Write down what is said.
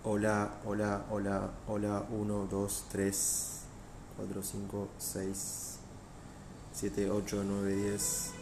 Hola, hola, hola, hola, 1, 2, 3, 4, 5, 6, 7, 8, 9, 10.